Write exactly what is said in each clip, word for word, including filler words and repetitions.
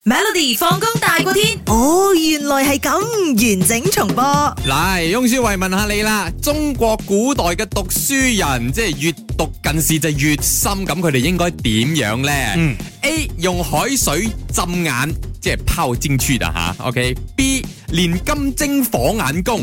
Melody 放工大過天， 哦，原來係咁，完整重播。 嚟，翁書慧問下你啦，中國古代嘅讀書人，即係閱讀近視就越深，咁佢哋應該點樣呢？嗯，A 用海水浸眼，即係泡進去的吓。OK，B 練金睛火眼功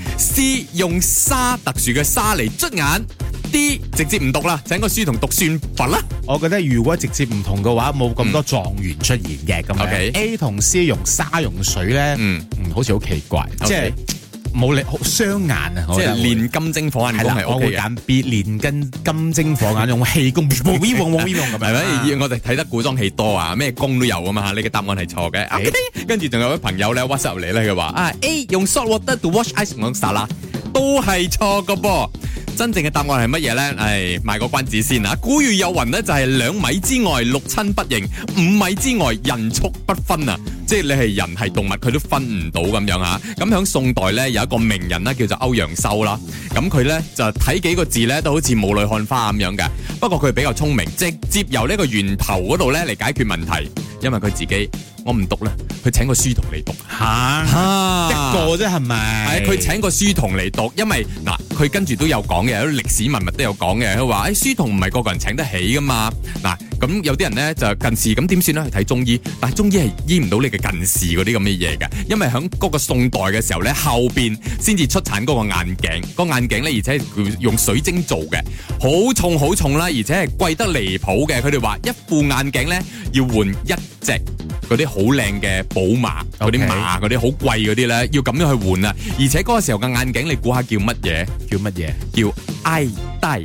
，C 用沙特殊嘅沙嚟捽眼。D 直接唔讀啦，請個書童讀算法啦。 我覺得如果直接唔同嘅話，冇咁多狀元出現嘅咁樣。 OK A 同 C 用沙用水咧，嗯嗯，好似好奇怪， Okay 即係冇力好傷眼啊！ 即係練金睛火眼功係我 OK 嘅。 會揀 B 練金金睛火眼用氣功，咁樣係咪？我哋睇得古裝戲多啊，咩功都有啊嘛。呢個答案係錯嘅。Okay? 跟住仲有位朋友咧 WhatsApp 入嚟咧，佢話啊 A 用 salt water to wash ice 講沙啦，都係錯嘅噃。真正嘅答案係乜嘢呢？唉，賣個關子先啊！古語有云呢，就係兩米之外六親不認，五米之外人畜不分啊！即係你係人係動物，佢都分唔到咁樣吓。咁響宋代呢，有一個名人啦，叫做歐陽修啦。咁佢呢，就睇幾個字呢，都好似霧裏看花咁樣嘅。不過佢比較聰明，直接由呢個源頭嗰度呢嚟解決問題。因為佢自己我唔讀啦，佢請個書童嚟讀吓，一個啫係咪？ 係佢請個書童嚟讀，因為嗱佢跟住都有講嘅，有啲歷史文物都有講嘅。佢話誒書童唔係個個人請得起噶嘛。嗱咁有啲人咧就近視，咁點算咧？去睇中醫，但係中醫係醫唔到你嘅近視嗰啲咁嘅嘢嘅，因為響嗰個宋代嘅時候咧，後邊先至出產嗰個眼鏡，個眼鏡咧而且係用水晶做嘅，好重好重啦，而且係貴得離譜嘅。佢哋話一副眼鏡咧要換一隻嗰啲好靚嘅寶馬，嗰啲馬嗰啲好貴嗰啲咧，要咁樣去換啊！而且嗰個時候嘅眼鏡，你估下叫乜嘢？ 叫乜嘢？ 叫 I 戴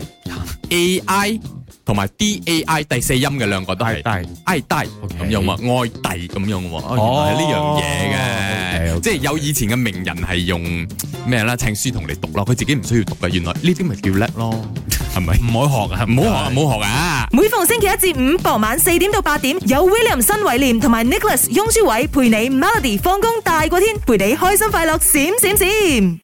A I 同埋 D A I 第四音嘅兩個都係 I 戴咁樣喎，愛戴咁樣喎。哦，原來係呢樣嘢嘅，即係有以前嘅名人係用咩啦？請書童嚟讀咯，佢自己唔需要讀嘅。原來呢啲咪叫叻咯，係咪？ 唔好學啊， 唔好學啊，唔好學啊！ 每逢星期一至五傍晚四點到八點，有 William 新偉廉同埋 Nicholas 雍舒偉陪你 Melody 放工大過天，陪你開心快樂閃閃閃。